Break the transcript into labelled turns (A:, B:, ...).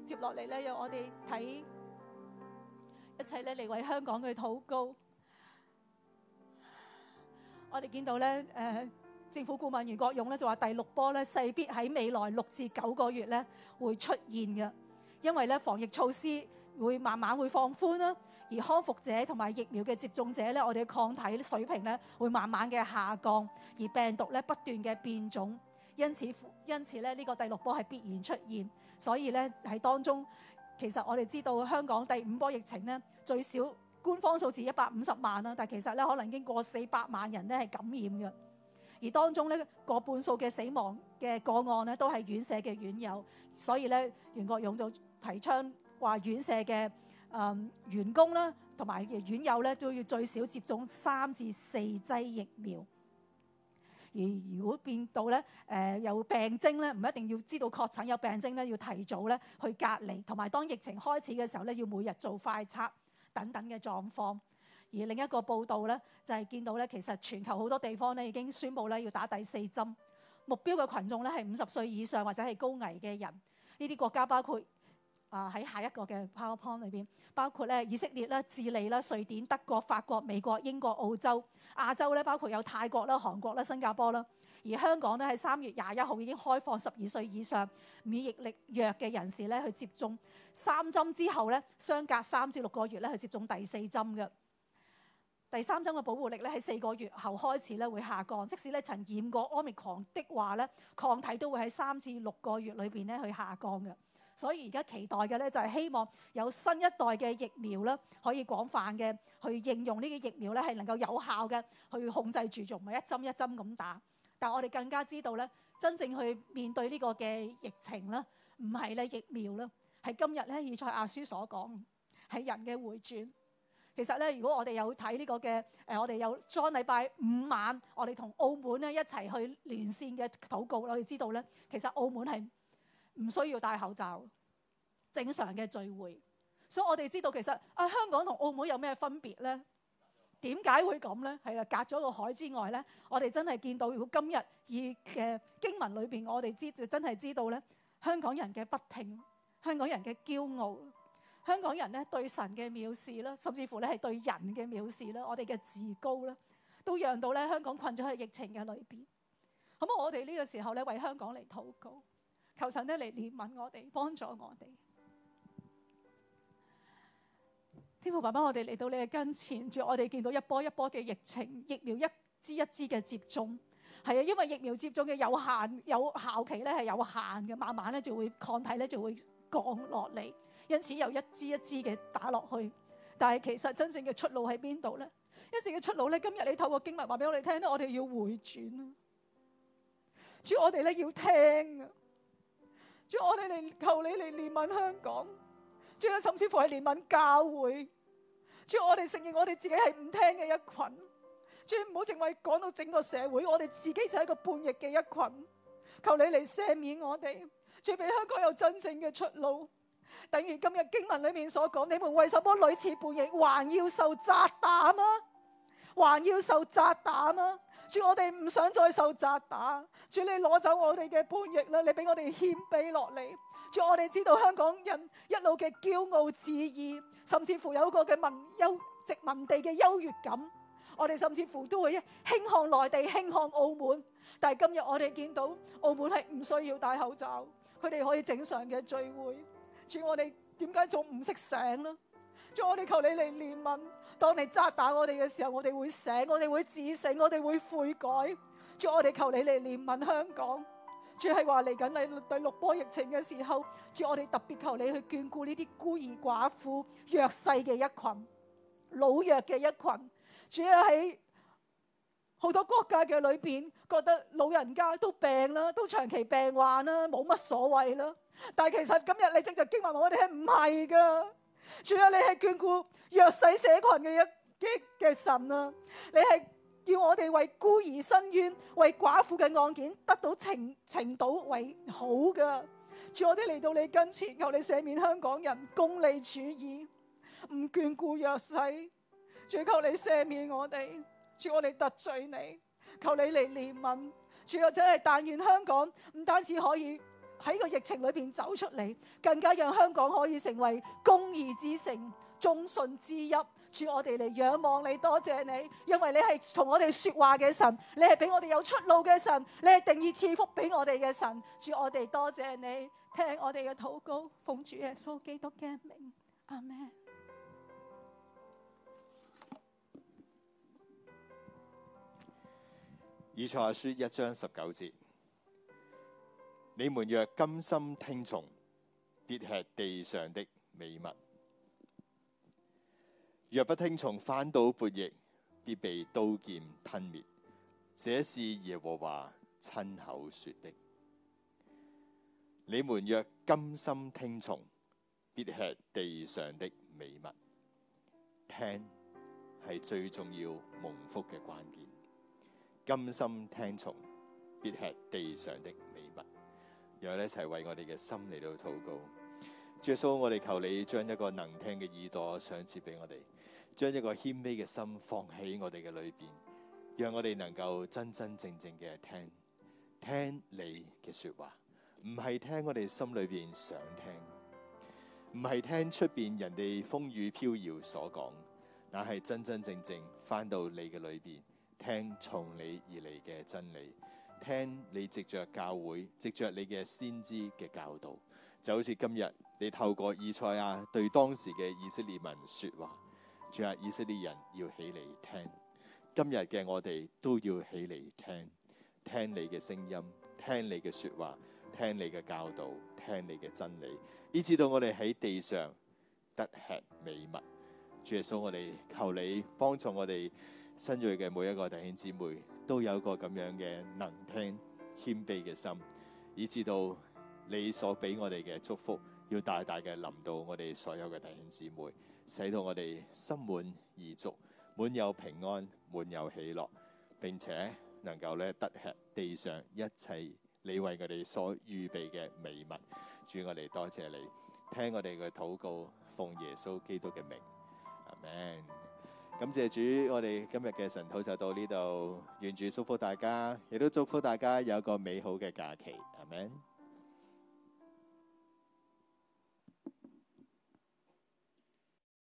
A: 接落嚟咧，讓我哋睇一齊咧嚟為香港去禱告。我哋見到咧，政府顧問袁國勇咧就話第6波咧勢必喺未來6至9個月咧會出現嘅，因為咧防疫措施會慢慢會放寬啦，而康復者同埋疫苗嘅接種者咧，我哋嘅抗體水平咧會慢慢嘅下降，而病毒咧不斷嘅變種，因此咧呢個第6波係必然出現。所以咧喺當中，其實我哋知道香港第5波疫情咧最少官方數字150萬啦，但其實咧可能已經過400萬人咧係感染嘅，而當中咧過半數嘅死亡嘅個案咧都係院舍嘅院友，所以咧袁國勇就提倡話院舍嘅員工啦同埋院友咧都要最少接種3至4劑疫苗。而如果變到咧有病徵咧，唔一定要知道確診有病徵咧，要提早咧去隔離，同埋當疫情開始嘅時候咧，要每日做快測等等嘅狀況。而另一個報道咧，就係見到咧，其實全球好多地方咧已經宣布咧要打第4針，目標嘅群眾咧係50歲以上或者係高危嘅人。呢啲國家包括喺下一個嘅 PowerPoint 裏邊，包括咧以色列啦、智利啦、瑞典、德國、法國、美國、英國、澳洲。亞洲咧包括有泰國啦、韓國啦、新加坡啦。而香港咧喺3月21號已經開放12歲以上免疫力弱嘅人士咧去接種3針之後咧，相隔3至6個月咧去接種第4針嘅。第3針嘅保護力咧喺4個月後開始咧會下降，即使咧曾染過 Omicron 的話咧，抗體都會喺3至6個月裏邊咧去下降嘅。所以而家期待嘅咧就係希望有新一代嘅疫苗啦，可以廣泛嘅去應用呢個疫苗咧，係能夠有效嘅去控制住，仲唔係一針一針咁打。但係我哋更加知道咧，真正去面對呢個嘅疫情啦，唔係咧疫苗啦，係今日咧以賽亞書所講係人嘅回轉。其實咧，如果我哋有睇呢個嘅我哋有當禮拜5晚，我哋同澳門咧一齊去連線嘅禱告，我哋知道咧，其實澳門係唔需要戴口罩，正常嘅聚會。所以我哋知道其實香港同澳門有咩分別咧？點解會咁咧？係啦，隔咗個海之外咧，我哋真係見到，如果今日以嘅經文裏邊，我哋真係知道咧，香港人嘅不聽，香港人嘅驕傲，香港人咧對神嘅藐視啦，甚至乎咧係對人嘅藐視啦，我哋嘅自高啦，都讓到咧香港困咗喺疫情嘅裏邊。咁我哋呢個時候咧為香港嚟禱告，求神咧嚟憐憫我哋，幫助我哋。天父爸爸，我哋嚟到你嘅跟前，主，我哋見到一波一波嘅疫情，疫苗一支一支嘅接種，係啊，因為疫苗接種嘅有效期咧係有限嘅，慢慢咧就會抗體咧就會降落嚟，因此又一支一支嘅打落去。但係其實真正嘅出路喺邊度咧？真正嘅出路咧，今日你透過經文話俾我哋聽咧，我哋要回轉啊！主，我哋咧要聽啊！主，我哋嚟求你嚟憐憫香港。主啊，甚至乎係憐憫教會。主，我哋承認我哋自己係唔聽嘅一群。主，唔好淨係講到整個社會，我哋自己就係一個叛逆嘅一群。求你嚟赦免我哋，主，俾香港有真正嘅出路。等於今日經文裏面所講，你們為什麼屢次叛逆，還要受責打嗎？還要受責打嗎？主，我哋唔想再受責打。主，你攞走我哋嘅叛逆啦，你俾我哋謙卑落嚟。主，我哋知道香港人一路嘅驕傲自義，甚至乎有一個嘅殖民地嘅優越感。我哋甚至乎都會輕看內地，輕看澳門。但係今日我哋見到澳門係唔需要戴口罩，佢哋可以正常嘅聚會。主，我哋點解仲唔識醒呢？主，我哋求你嚟憐憫。當你責打我哋嘅時候，我哋會醒，我哋會自省，我哋會悔改。主，我哋求你嚟憐憫香港。主，係話嚟緊你第6波疫情嘅時候，主，我哋特別求你去眷顧呢啲孤兒寡婦、弱勢嘅一群、老弱嘅一群。主要喺好多國家嘅裏邊，覺得老人家都病啦，都長期病患啦，冇乜所謂啦。但係其實今日你正在經文話我哋係唔係噶？主啊，你係眷顧弱勢社群嘅神啊！你係叫我哋為孤兒伸冤，為寡婦嘅案件得到呈倒為好噶。主，我哋嚟到你跟前，求你赦免香港人功利主義，唔眷顧弱勢。主，求你赦免我哋。主，我哋得罪你，求你嚟憐憫。主啊，真係但願香港唔單止可以喺個疫情裏邊走出嚟，更加讓香港可以成為公義之城、忠信之邑。主，我哋嚟仰望你，多謝你，因為你係同我哋說話嘅神，你係俾我哋有出路嘅神，你係定義賜福俾我哋嘅神。主，我哋多謝你，聽我哋嘅禱告，奉主耶穌基督嘅名，阿們。
B: 以賽亞書1章19節：你們若甘心聽從，必吃地上的美物；若不聽從，反倒悖逆，必被刀劍吞滅。這是耶和華親口說的。你們若甘心聽從，必吃地上的美物。聽係最重要蒙福嘅關鍵。甘心聽從，必吃地上的美物。讓我哋一齊為我哋嘅心嚟到禱告。主耶穌，我哋求你將一個能聽嘅耳朵賞賜俾我哋，將一個謙卑嘅心放喺我哋嘅裏邊，讓我哋能夠真真正正嘅聽你嘅說話，唔係聽我哋心裏邊想聽，唔係聽出邊人哋風雨飄搖所講，但係真真正正翻到你嘅裏邊，聽從你而嚟嘅真理，聽你藉着教會，藉着你嘅先知嘅教導，就好似今日你透過以賽亞對當時嘅以色列民說話，主啊，以色列人要起嚟聽，今日嘅我哋都要起嚟聽你嘅聲音，聽你嘅說話，聽你嘅教導，聽你嘅真理，以至到我哋喺地上得吃美物。主耶穌，我哋求你幫助我哋新銳嘅每一個弟兄姊妹，都有一個咁樣嘅能聽謙卑嘅心，以至到你所俾我哋嘅祝福要大大嘅臨到我哋所有嘅弟兄姊妹，使到我哋心滿意足，滿有平安，滿有喜樂，並且能夠咧得吃地上一切你為我哋所預備嘅美物。主，我哋多謝你，聽我哋嘅禱告，奉耶穌基督嘅名，阿們。感謝主，我哋今日嘅晨禱就到呢度，願主祝福大家，亦都祝福大家有一個美好嘅假期，阿們。